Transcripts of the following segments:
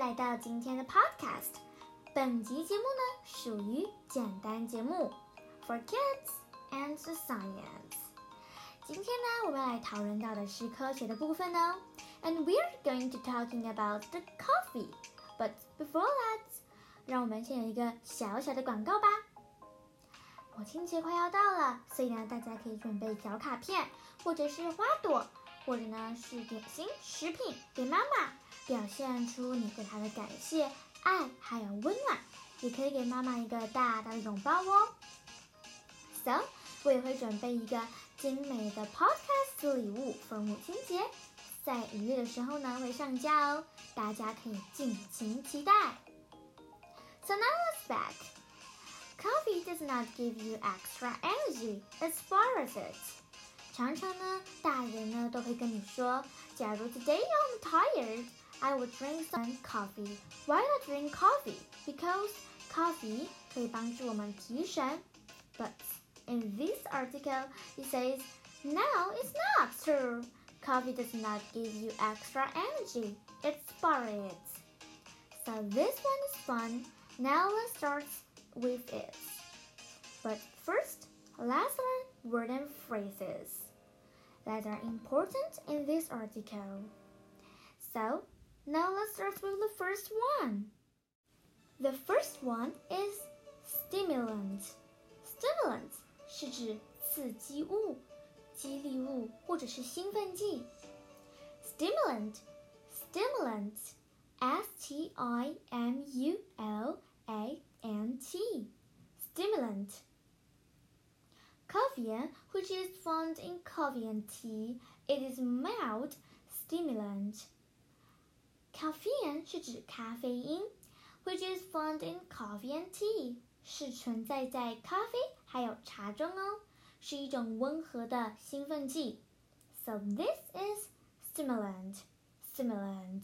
来到今天的 podcast。本集节目呢属于简单节目 for kids and science。今天呢，我们来讨论到的是科学的部分哦。And we're going to talking about the coffee. But before that, 让我们先有一个小小的广告吧。母亲节快要到了，所以呢，大家可以准备小卡片，或者是花朵，或者呢是点心、食品给妈妈，表现出你对她的感谢、爱还有温暖。也可以给妈妈一个大大的拥抱哦。So， 我也会准备一个精美的 podcast 礼物 for 母亲节，在5月的时候呢会上架哦，大家可以尽情期待。So now let's back. Coffee does not give you extra energy, it spoils it. 常常呢，大人呢都会跟你说，假如 today I'm tired, I will drink some coffee. Why not drink coffee? Because coffee 可以帮助我们提神。But in this article, it says, no, it's not true. Coffee does not give you extra energy. It spoils it. So this one is fun. Now let's start with it. But first, let's learn words and phrases that are important in this article. So, now let's start with the first one. The first one is stimulant. Stimulant 是指刺激物、激励物或者是兴奋剂。Stimulant, stimulant, S-T-I-M-U-L-A-N-T, stimulant. Caffeine, which is found in coffee and tea, it is mild stimulant. Caffeine 是指咖啡因 which is found in coffee and tea, 是存在在咖啡还有茶中哦，是一种温和的兴奋剂。So this is stimulant, stimulant.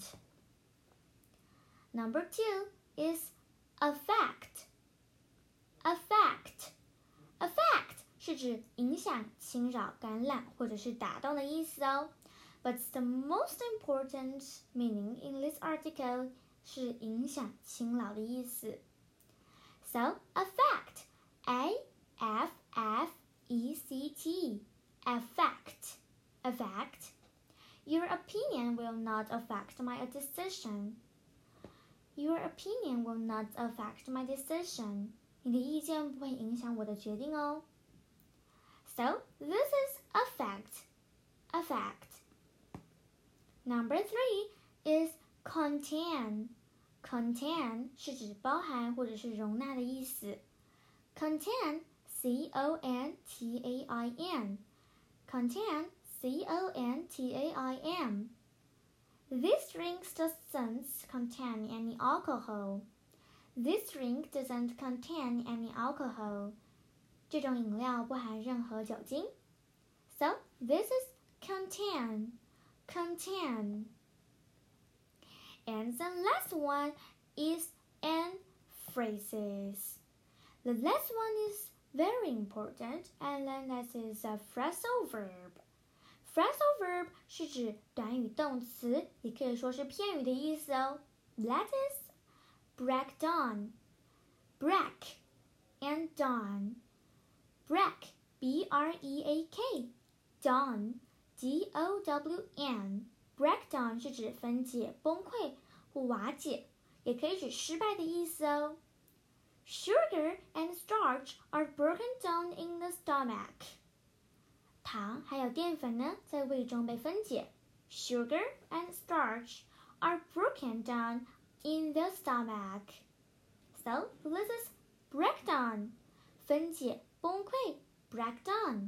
Number 2 is affect. Affect, affect 是指影响、侵扰、感染或者是打动的意思哦。But the most important meaning in this article 是影响、侵扰的意思。So, affect, A-F-F-E-C-T, affect, affect. Your opinion will not affect my decision. Your opinion will not affect my decision. 你的意见不会影响我的决定哦。So, this is affect, affect. Number 3 is contain. Contain 是指包含或者是容纳的意思。Contain, C-O-N-T-A-I-N. Contain, C-O-N-T-A-I-N. This drink doesn't contain any alcohol. This drink doesn't contain any alcohol. 这种饮料不含任何酒精。So, this is contain, contain. And the last one is and phrases. The last one is very important, and then that is a phrasal verb. Phrasal verb 是指短语动词，也可以说是片语的意思哦。That is break down, break and dawn. Break, B-R-E-A-K, dawn, D-O-W-N. Breakdown 是指分解、崩溃或瓦解，也可以指失败的意思哦。Sugar and starch are broken down in the stomach. 糖还有淀粉呢，在胃中被分解。Sugar and starch are broken down in the stomach. So, this is breakdown. 分解、崩溃 breakdown.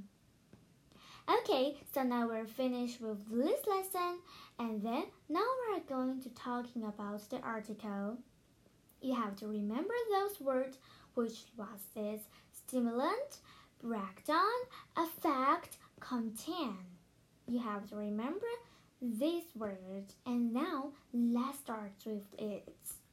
Okay, so now we're finished with this lesson, and then now we're going to talking about the article. You have to remember those words, which was this stimulant, breakdown, affect, contain. You have to remember these words, and now let's start with it.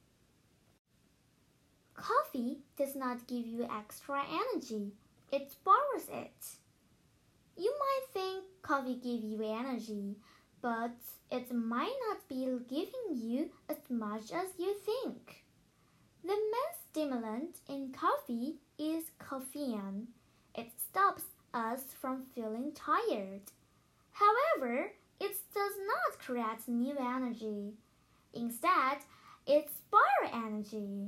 Coffee does not give you extra energy. It spoils it. You might think coffee gives you energy, but it might not be giving you as much as you think. The main stimulant in coffee is caffeine. It stops us from feeling tired. However, it does not create new energy. Instead, it spires energy.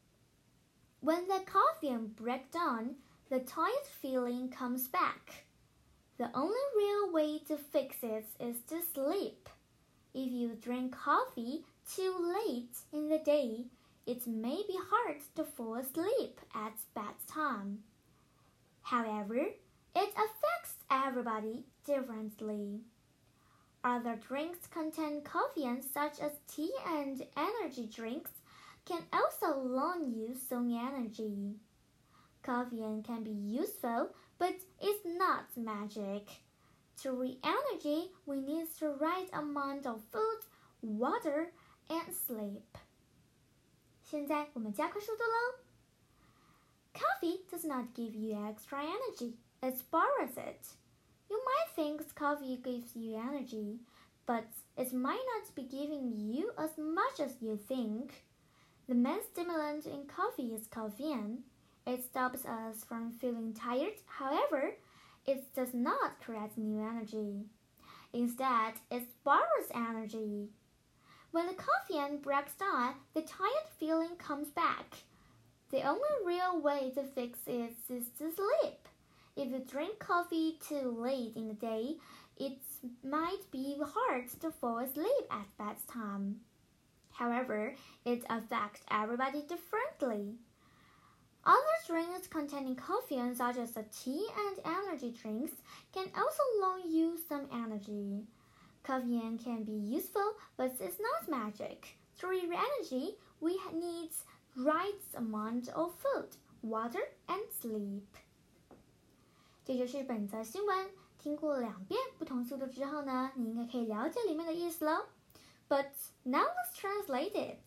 When the caffeine breaks down, the tired feeling comes back. The only real way to fix it is to sleep. If you drink coffee too late in the day, it may be hard to fall asleep at bedtime. However, it affects everybody differently. Other drinks contain caffeine, such as tea and energy drinks, can also loan you some energy. Caffeine can be useful, but it's not magic. To reach energy, we need the right amount of food, water, and sleep. 现在我们加快速度喽。Coffee does not give you extra energy, it borrows it. You might think coffee gives you energy, but it might not be giving you as much as you think. The main stimulant in coffee is caffeine. It stops us from feeling tired. However, it does not create new energy. Instead, it borrows energy. When the caffeine breaks down, the tired feeling comes back. The only real way to fix it is to sleep. If you drink coffee too late in the day, it might be hard to fall asleep at bedtime. However, it affects everybody differently. Other drinks containing caffeine, such as the tea and energy drinks, can also loan you some energy. Caffeine can be useful, but it's not magic. To reach energy, we need right amount of food, water, and sleep. 这就是本则新闻。听过2遍不同速度之后呢，你应该可以了解里面的意思喽。But now let's translate it.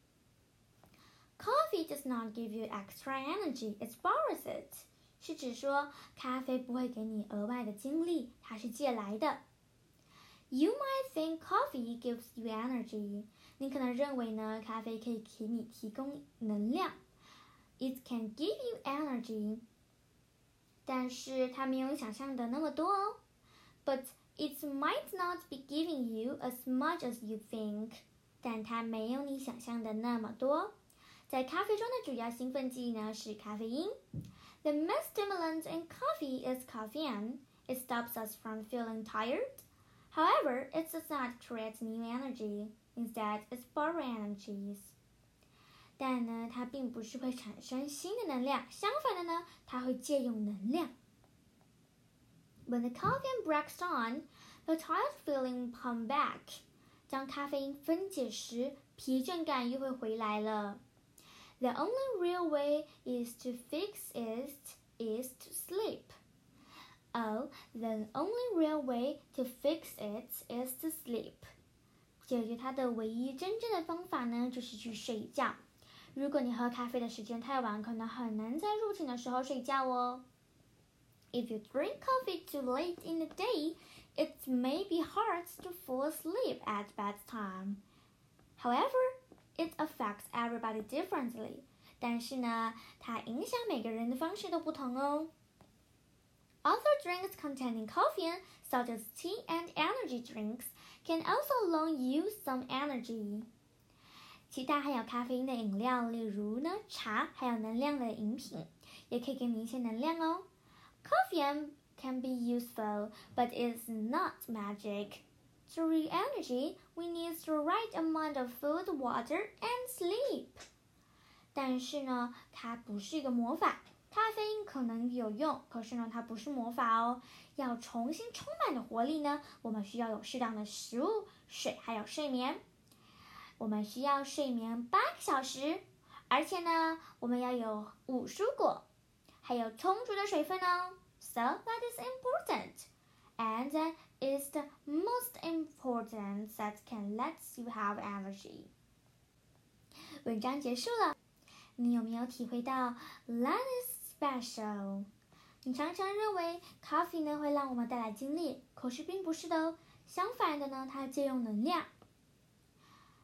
Coffee does not give you extra energy, it borrows it. 是指说咖啡不会给你额外的精力，它是借来的。You might think coffee gives you energy. 你可能认为呢，咖啡可以给你提供能量。It can give you energy. 但是它没有你想象的那么多哦。But it might not be giving you as much as you think. 但它没有你想象的那么多。在咖啡中的主要兴奋剂呢是咖啡因。The main stimulant in coffee is caffeine. It stops us from feeling tired. However, it does not create new energy. Instead, it borrows energies. 但呢，它并不是会产生新的能量，相反的呢，它会借用能量。When the caffeine breaks down, the tired feeling comes back. 当咖啡因分解时，疲倦感又会回来了。The only real way is to fix it is to sleep. Oh, the only real way to fix it is to sleep. 解决它的唯一真正的方法呢，就是去睡觉。如果你喝咖啡的时间太晚，可能很难在入寝的时候睡觉哦。If you drink coffee too late in the day, it may be hard to fall asleep at bedtime. However, it affects everybody differently. 但是呢，它影响每个人的方式都不同哦。Other drinks containing caffeine, such as tea and energy drinks, can also loan you some energy. 其他含有咖啡因的饮料，例如呢茶，还有能量的饮品，也可以给你一些能量哦。Caffeine can be useful, but it's not magic. To reach energy, we need the right amount of food, water, and sleep. 但是呢，它不是一个魔法。咖啡因可能有用，可是呢，它不是魔法哦。要重新充满的活力呢，我们需要有适当的食物、水，还有睡眠。我们需要睡眠8个小时，而且呢，我们要有5蔬果，还有充足的水分哦。So that is important, and that is the most important that can let you have energy. 文章结束了，你有没有体会到 That is special？ 你常常认为咖啡呢会让我们带来精力，可是并不是的哦。相反的呢，它借用能量。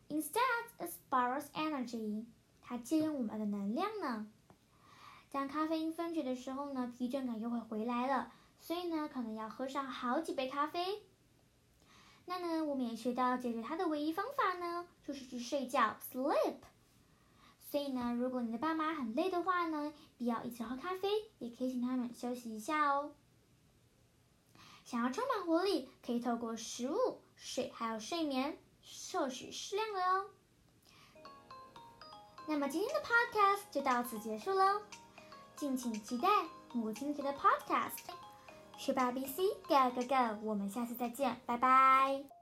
Instead, it borrows energy. 它借用我们的能量呢。当咖啡因分解的时候呢，疲倦感又会回来了，所以呢，可能要喝上好几杯咖啡。那呢，我们也学到解决它的唯一方法呢，就是去睡觉 ，sleep。所以呢，如果你的爸妈很累的话呢，不要一直喝咖啡，也可以请他们休息一下哦。想要充满活力，可以透过食物、水还有睡眠，摄取适量的哦。那么今天的 podcast 就到此结束喽，敬请期待母亲节的 podcast。学霸 BC Go Go Go，我们下次再见，拜拜。